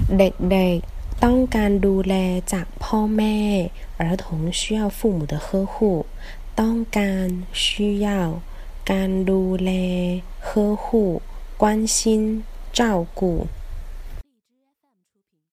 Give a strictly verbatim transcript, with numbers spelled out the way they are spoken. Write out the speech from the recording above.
เด็กๆต้องการดูแลจากพ่อแม่儿童需要父母的呵护ต้องการ需要การดูแล呵护关心照顾